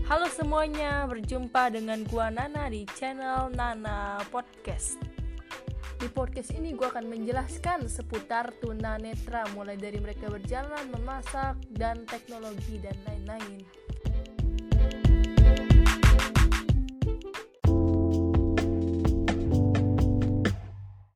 Halo semuanya, berjumpa dengan gua Nana di channel Nana Podcast. Di podcast ini gua akan menjelaskan seputar tunanetra, mulai dari mereka berjalan, memasak, dan teknologi dan lain-lain.